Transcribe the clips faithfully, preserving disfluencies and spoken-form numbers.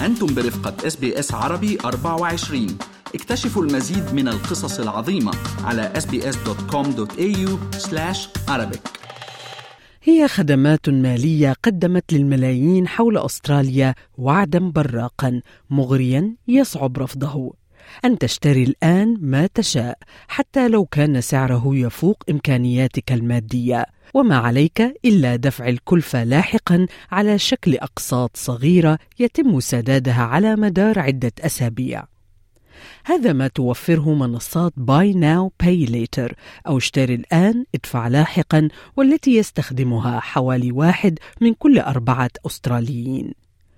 أنتم برفقة إس بي إس عربي أربعة وعشرين. اكتشفوا المزيد من القصص العظيمة على إس بي إس دوت كوم دوت إيه يو سلاش عربيك. هي خدمات مالية قدمت للملايين حول أستراليا وعدا براقا مغريا يصعب رفضه. أن تشتري الآن ما تشاء حتى لو كان سعره يفوق إمكانياتك المادية، وما عليك إلا دفع الكلفة لاحقا على شكل أقساط صغيرة يتم سدادها على مدار عدة أسابيع. هذا ما توفره منصات Buy Now Pay Later أو اشتري الآن ادفع لاحقا، والتي يستخدمها حوالي واحد من كل أربعة أستراليين.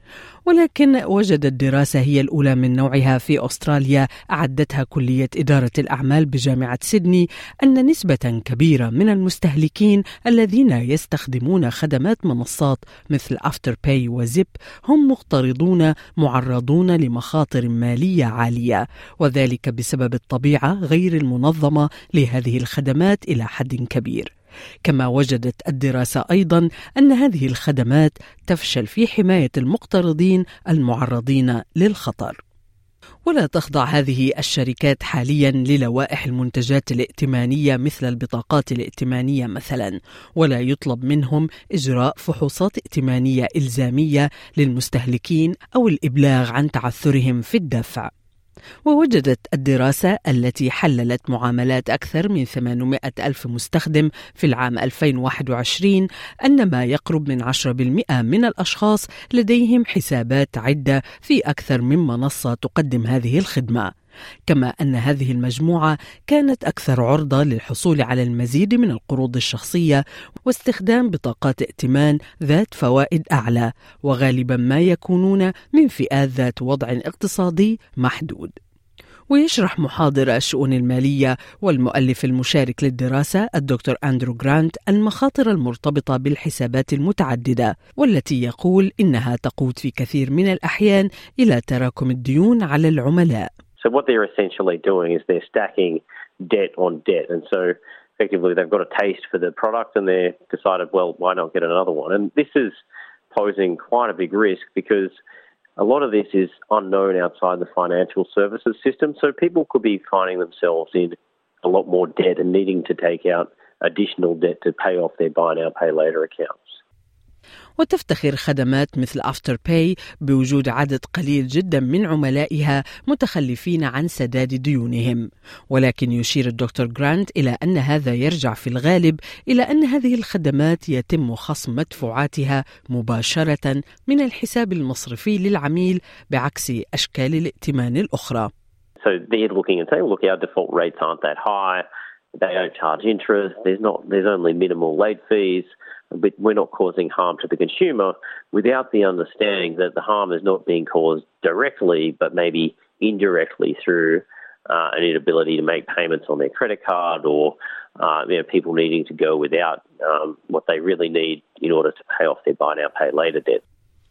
ولكن وجدت دراسة هي الأولى من نوعها في أستراليا أعدتها كلية إدارة الأعمال بجامعة سيدني أن نسبة كبيرة من المستهلكين الذين يستخدمون خدمات منصات مثل أفتر باي وزيب هم مقترضون معرضون لمخاطر مالية عالية، وذلك بسبب الطبيعة غير المنظمة لهذه الخدمات إلى حد كبير. كما وجدت الدراسة أيضا أن هذه الخدمات تفشل في حماية المقترضين المعرضين للخطر. ولا تخضع هذه الشركات حاليا للوائح المنتجات الائتمانية مثل البطاقات الائتمانية مثلا، ولا يطلب منهم إجراء فحوصات ائتمانية إلزامية للمستهلكين أو الإبلاغ عن تعثرهم في الدفع. ووجدت الدراسة التي حللت معاملات أكثر من ثمانمائة ألف مستخدم في العام ألفين وواحد وعشرين أن ما يقرب من عشرة بالمئة من الأشخاص لديهم حسابات عدة في أكثر من منصة تقدم هذه الخدمة، كما أن هذه المجموعة كانت أكثر عرضة للحصول على المزيد من القروض الشخصية واستخدام بطاقات ائتمان ذات فوائد أعلى، وغالبا ما يكونون من فئات ذات وضع اقتصادي محدود. ويشرح محاضر الشؤون المالية والمؤلف المشارك للدراسة الدكتور أندرو غرانت المخاطر المرتبطة بالحسابات المتعددة، والتي يقول إنها تقود في كثير من الأحيان إلى تراكم الديون على العملاء. So what they're essentially doing is they're stacking debt on debt. And so effectively they've got a taste for the product and they've decided, well, why not get another one? And this is posing quite a big risk because a lot of this is unknown outside the financial services system. So people could be finding themselves in a lot more debt and needing to take out additional debt to pay off their buy now, pay later accounts. وتفتخر خدمات مثل أفتر باي بوجود عدد قليل جدا من عملائها متخلفين عن سداد ديونهم، ولكن يشير الدكتور غرانت إلى أن هذا يرجع في الغالب إلى أن هذه الخدمات يتم خصم مدفوعاتها مباشرة من الحساب المصرفي للعميل بعكس أشكال الائتمان الأخرى. So they're looking and saying, look, our default rates aren't that high, they don't charge interest, there's not, there's only minimal late fees, but we're not causing harm to the consumer, without the understanding that the harm is not being caused directly, but maybe indirectly through uh, an inability to make payments on their credit card, or uh, you know, people needing to go without um, what they really need in order to pay off their buy now, pay later debt.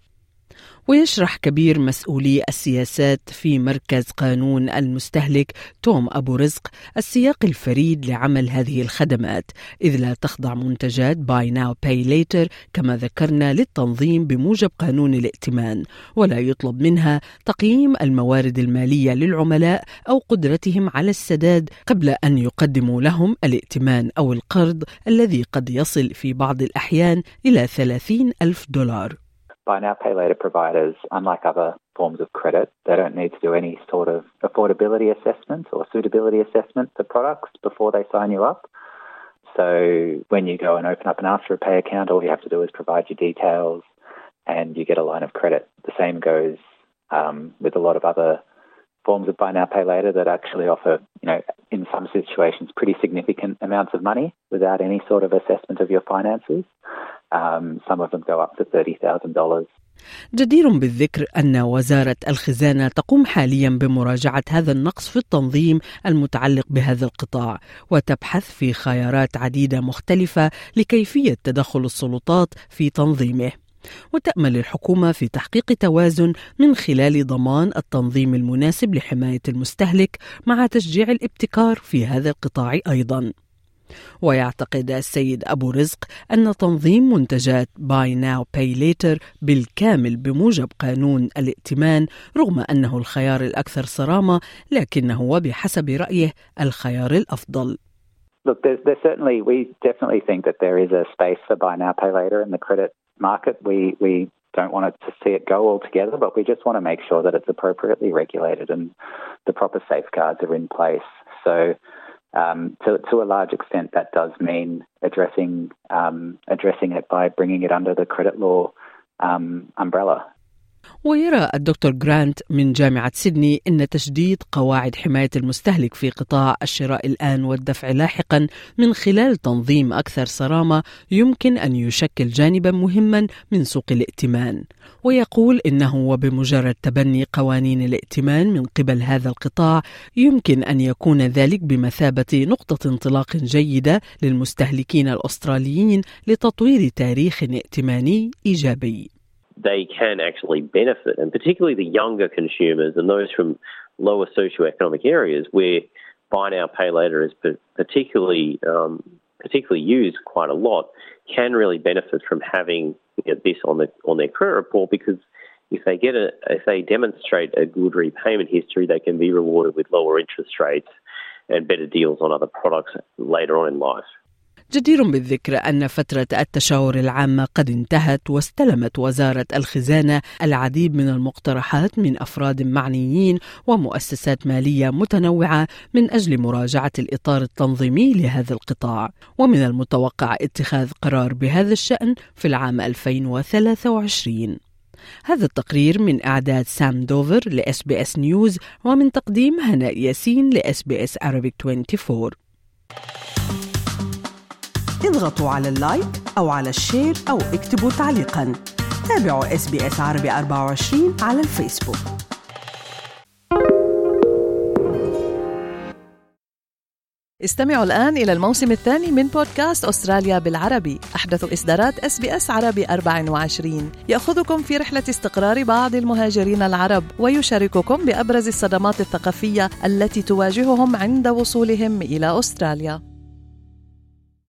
ويشرح كبير مسؤولي السياسات في مركز قانون المستهلك توم أبو رزق السياق الفريد لعمل هذه الخدمات، إذ لا تخضع منتجات Buy Now Pay Later كما ذكرنا للتنظيم بموجب قانون الائتمان، ولا يطلب منها تقييم الموارد المالية للعملاء أو قدرتهم على السداد قبل أن يقدموا لهم الائتمان أو القرض الذي قد يصل في بعض الأحيان إلى ثلاثين ألف دولار. Buy now, pay later providers, unlike other forms of credit, they don't need to do any sort of affordability assessment or suitability assessment for products before they sign you up. So when you go and open up an After Pay account, all you have to do is provide your details and you get a line of credit. The same goes um, with a lot of other forms of buy now, pay later that actually offer, you know, in some situations, pretty significant amounts of money without any sort of assessment of your finances. Um, some of them go up to thirty thousand dollars. جدير بالذكر أن وزارة الخزانة تقوم حاليا بمراجعة هذا النقص في التنظيم المتعلق بهذا القطاع، وتبحث في خيارات عديدة مختلفة لكيفية تدخل السلطات في تنظيمه. وتأمل الحكومة في تحقيق توازن من خلال ضمان التنظيم المناسب لحماية المستهلك مع تشجيع الابتكار في هذا القطاع أيضا. ويعتقد السيد أبو رزق أن تنظيم منتجات Buy Now Pay Later بالكامل بموجب قانون الائتمان رغم أنه الخيار الأكثر صرامة لكنه وبحسب رأيه الخيار الأفضل. Look, there's, there's certainly, we definitely think that there is a space for buy now, pay later in the credit market. We we don't want to see it go altogether, but we just want to make sure that it's appropriately regulated and the proper safeguards are in place. So um, to, to a large extent, that does mean addressing um, addressing it by bringing it under the credit law um, umbrella. ويرى الدكتور جرانت من جامعة سيدني أن تشديد قواعد حماية المستهلك في قطاع الشراء الآن والدفع لاحقا من خلال تنظيم أكثر صرامة يمكن أن يشكل جانبا مهما من سوق الائتمان. ويقول إنه وبمجرد تبني قوانين الائتمان من قبل هذا القطاع يمكن أن يكون ذلك بمثابة نقطة انطلاق جيدة للمستهلكين الأستراليين لتطوير تاريخ ائتماني إيجابي. They can actually benefit, and particularly the younger consumers and those from lower socioeconomic areas where buy now, pay later is particularly um, particularly used quite a lot, can really benefit from having you know, this on the on their credit report, because if they get a if they demonstrate a good repayment history, they can be rewarded with lower interest rates and better deals on other products later on in life. جدير بالذكر أن فترة التشاور العامة قد انتهت واستلمت وزارة الخزانة العديد من المقترحات من أفراد معنيين ومؤسسات مالية متنوعة من أجل مراجعة الإطار التنظيمي لهذا القطاع، ومن المتوقع اتخاذ قرار بهذا الشأن في العام ألفين وثلاثة وعشرين. هذا التقرير من إعداد سام دوفر لإس بي إس نيوز ومن تقديم هناء ياسين لإس بي إس Arabic أربعة وعشرين. اضغطوا على اللايك أو على الشير أو اكتبوا تعليقاً. تابعوا إس بي إس عربي أربعة وعشرين على الفيسبوك. استمعوا الآن إلى الموسم الثاني من بودكاست أستراليا بالعربي، أحدث إصدارات إس بي إس عربي أربعة وعشرين، يأخذكم في رحلة استقرار بعض المهاجرين العرب ويشارككم بأبرز الصدمات الثقافية التي تواجههم عند وصولهم إلى أستراليا.